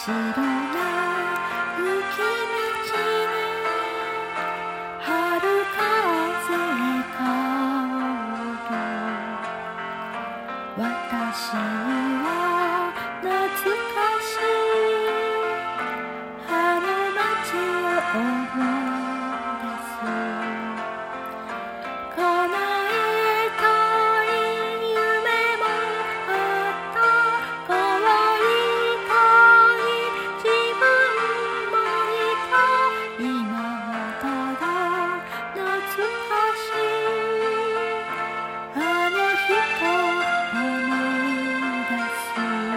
白な雪道に春風香る私は懐かしいあの街を思い出す叶えたい夢もあった可愛い自分もいた今はただ懐かしいあの人思い出す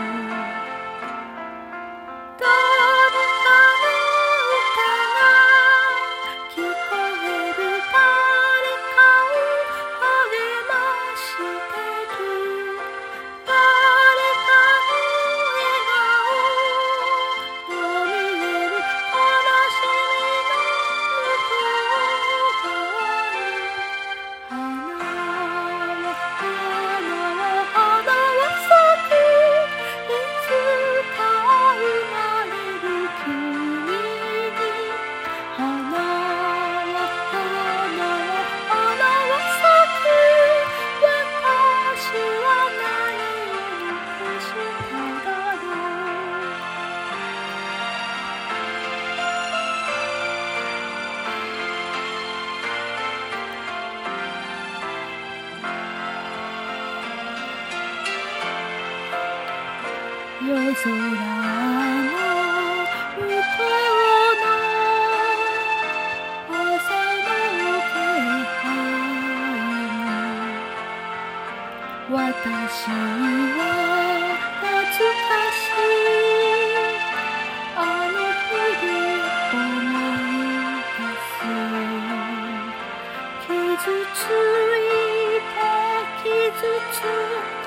誰かの歌が聞こえる誰かを励ましてる誰かの笑顔が見える悲しみの向こう側に花は咲くいつか生まれる君に花は咲く私は何をしただろう夜空の向こうの朝の気配に私は懐かしいあの日々思い出す傷ついて傷つ